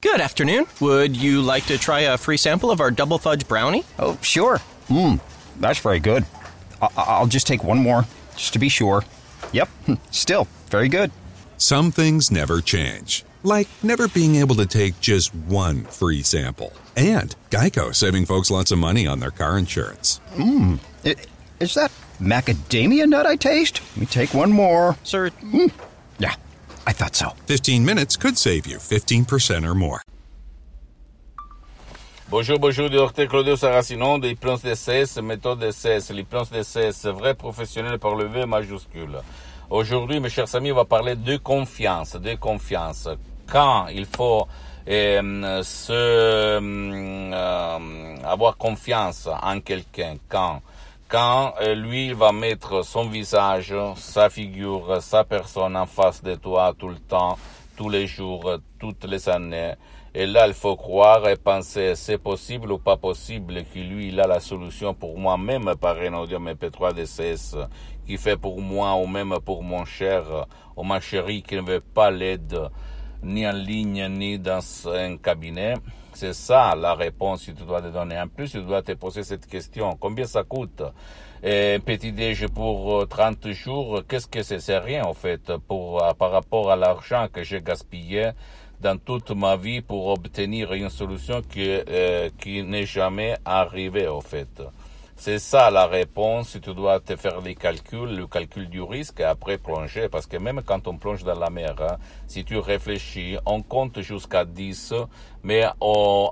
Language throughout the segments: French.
Good afternoon. Would you like to try a free sample of our double fudge brownie? Oh, sure. That's very good. I'll just take one more, just to be sure. Yep, still very good. Some things never change, like never being able to take just one free sample. And Geico saving folks lots of money on their car insurance. Is that macadamia nut I taste? Let me take one more. Sir? Yeah, I thought so. 15 minutes could save you 15% or more. Bonjour, Dr Claudio Saracino de l'hypnose DCS, méthode DCS, l'hypnose DCS, vrai professionnel par le V majuscule. Aujourd'hui, mes chers amis, on va parler de confiance. Quand il faut avoir confiance en quelqu'un, quand lui il va mettre son visage, sa figure, sa personne en face de toi tout le temps, tous les jours, toutes les années. Et là, il faut croire et penser, c'est possible ou pas possible que lui, il a la solution pour moi, même par un audio MP3 DCS, qui fait pour moi ou même pour mon cher ou ma chérie qui ne veut pas l'aide ni en ligne ni dans un cabinet. C'est ça la réponse que tu dois te donner. En plus, tu dois te poser cette question. Combien ça coûte? Un petit déj pour 30 jours, qu'est-ce que c'est? C'est rien, en fait, par rapport à l'argent que j'ai gaspillé dans toute ma vie pour obtenir une solution qui n'est jamais arrivée, en fait. C'est ça la réponse. Tu dois te faire le calcul du risque et après plonger. Parce que même quand on plonge dans la mer, si tu réfléchis, on compte jusqu'à 10, mais au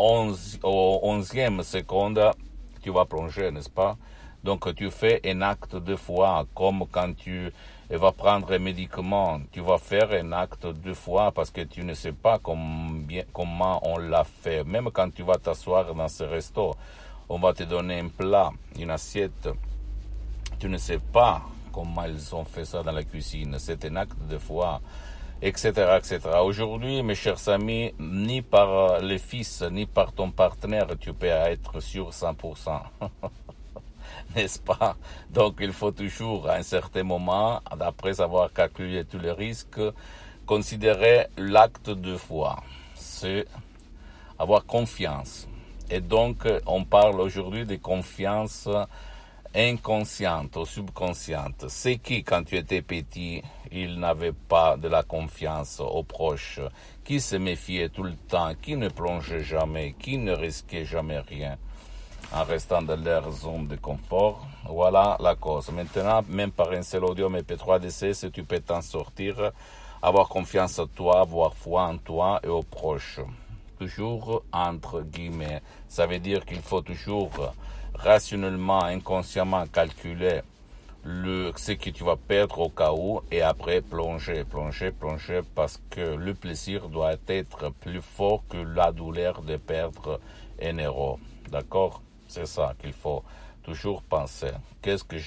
11e seconde, tu vas plonger, n'est-ce pas? Donc tu fais un acte 2 fois, comme quand tu vas prendre un médicament, tu vas faire un acte 2 fois parce que tu ne sais pas comment on l'a fait. Même quand tu vas t'asseoir dans ce resto, on va te donner un plat, une assiette. Tu ne sais pas comment ils ont fait ça dans la cuisine. C'est un acte 2 fois, etc., etc. Aujourd'hui, mes chers amis, ni par les fils, ni par ton partenaire, tu peux être sûr 100%. N'est-ce pas? Donc, il faut toujours, à un certain moment, après avoir calculé tous les risques, considérer l'acte 2 fois. C'est avoir confiance. Et donc, on parle aujourd'hui de confiance inconsciente ou subconsciente. C'est qui, quand tu étais petit, il n'avait pas de la confiance aux proches, qui se méfiait tout le temps, qui ne plongeait jamais, qui ne risquait jamais rien, en restant dans leur zone de confort. Voilà la cause. Maintenant, même par un seul audio MP3 DCS, tu peux t'en sortir, avoir confiance en toi, avoir foi en toi et aux proches. Toujours entre guillemets. Ça veut dire qu'il faut toujours rationnellement, inconsciemment calculer ce que tu vas perdre au cas où et après plonger parce que le plaisir doit être plus fort que la douleur de perdre un euro. D'accord? C'est ça qu'il faut toujours penser. Qu'est-ce que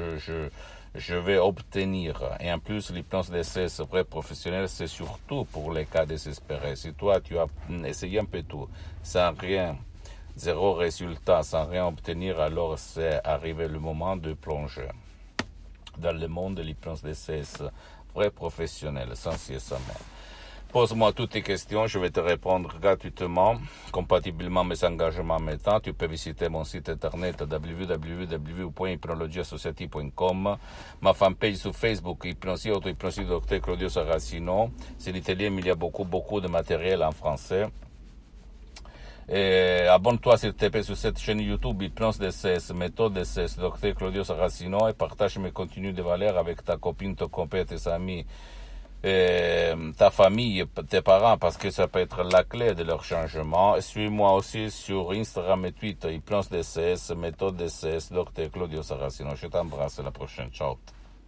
je vais obtenir? Et en plus, l'hypnose DCS vrai professionnel, c'est surtout pour les cas désespérés. Si toi, tu as essayé un peu tout, sans rien, zéro résultat, sans rien obtenir, alors c'est arrivé le moment de plonger dans le monde de l'hypnose DCS vrai professionnel, sans cessement. Pose-moi toutes tes questions, je vais te répondre gratuitement, compatiblement mes engagements maintenant. Tu peux visiter mon site internet www.hypnologiassociative.com, ma fanpage sur Facebook, Hypnosie, auto-hypnosie Dr Claudio Saracino. C'est l'italien, mais il y a beaucoup de matériel en français. Et abonne-toi s'il te plaît sur cette chaîne YouTube Hypnose DCS, méthode DCS, Dr Claudio Saracino, et partage mes contenus de valeur avec ta copine, ton copain, tes amis, ta famille, tes parents, parce que ça peut être la clé de leur changement. Et suis-moi aussi sur Instagram et Twitter, Hypnose DCS, méthode DCS, Dr Claudio Saracino. Je t'embrasse, à la prochaine. Ciao.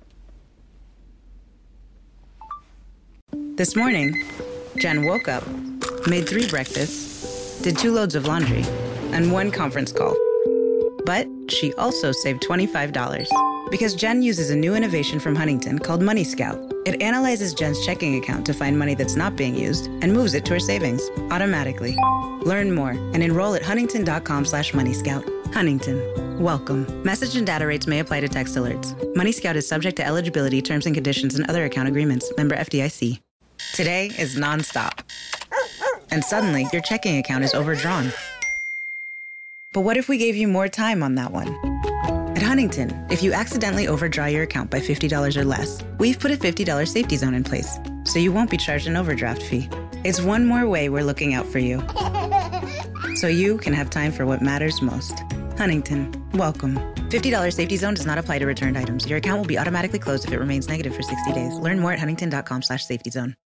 This morning, Jen woke up, made 3 breakfasts, did 2 loads of laundry, and 1 conference call. But she also saved $25 because Jen uses a new innovation from Huntington called Money Scout. It analyzes Jen's checking account to find money that's not being used and moves it to her savings automatically. Learn more and enroll at huntington.com/moneyscout. Huntington. Welcome. Message and data rates may apply to text alerts. Money Scout is subject to eligibility, terms and conditions, and other account agreements. Member FDIC. Today is nonstop. and suddenly your checking account is overdrawn. But what if we gave you more time on that one? At Huntington, if you accidentally overdraw your account by $50 or less, we've put a $50 safety zone in place, so you won't be charged an overdraft fee. It's one more way we're looking out for you, so you can have time for what matters most. Huntington, welcome. $50 safety zone does not apply to returned items. Your account will be automatically closed if it remains negative for 60 days. Learn more at huntington.com/safetyzone.